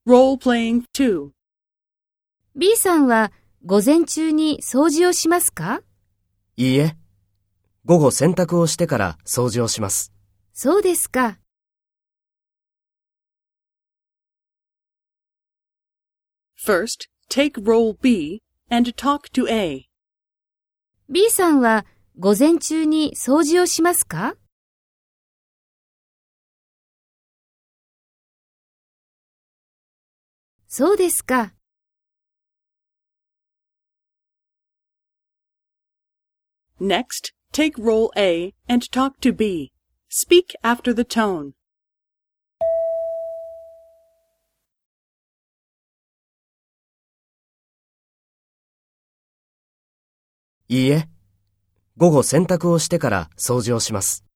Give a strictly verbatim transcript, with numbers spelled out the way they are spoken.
Role-playing two. B さんは午前中に掃除をしますか？ いいえ。午後洗濯をしてから掃除をします。 そうですか。 First, take role B and talk to A. B さんは午前中に掃除をしますか？そうですか。 Next, take role A and talk to B. Speak after the tone. いいえ。午後洗濯をしてから掃除をします。